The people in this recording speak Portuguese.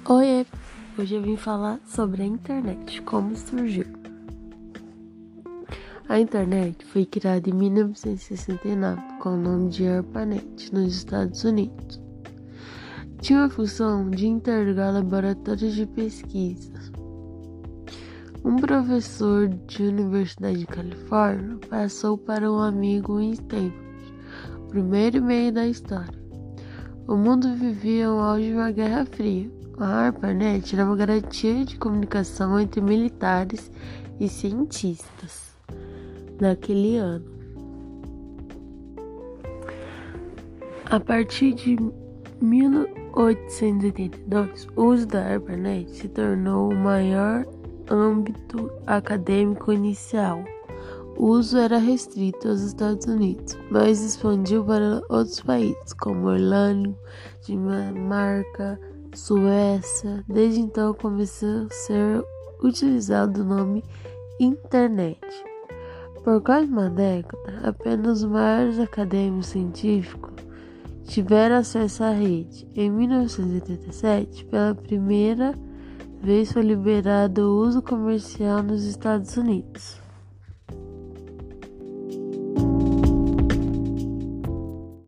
Oiê! Hoje eu vim falar sobre a internet, como surgiu. A internet foi criada em 1969 com o nome de ARPANET, nos Estados Unidos. Tinha a função de interligar laboratórios de pesquisa. Um professor de universidade de Califórnia passou para um amigo em Stanford, o primeiro e-mail da história. O mundo vivia o auge de uma Guerra Fria. A ARPANET era uma garantia de comunicação entre militares e cientistas naquele ano. A partir de 1882, o uso da ARPANET se tornou o maior âmbito acadêmico inicial. O uso era restrito aos Estados Unidos, mas expandiu para outros países, como Irlanda, Dinamarca, Suécia. Desde então começou a ser utilizado o nome Internet. Por quase uma década, apenas os maiores acadêmicos científicos tiveram acesso à rede. Em 1987, pela primeira vez foi liberado o uso comercial nos Estados Unidos.